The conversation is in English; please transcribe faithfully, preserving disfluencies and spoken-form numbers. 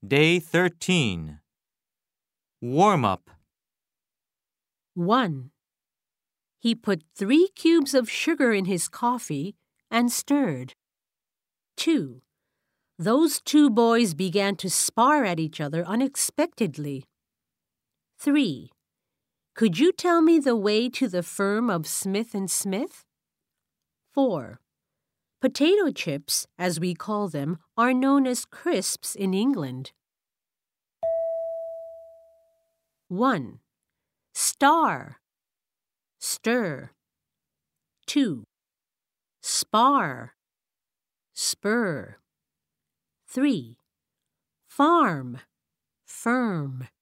Day thirteen. Warm-up. one. He put three cubes of sugar in his coffee and stirred. two. Those two boys began to spar at each other unexpectedly. three. Could you tell me the way to the firm of Smith and Smith? four. Potato chips, as we call them, are known as crisps in England. one. Star. Stir. two. Spar. Spur. three. Farm. Firm.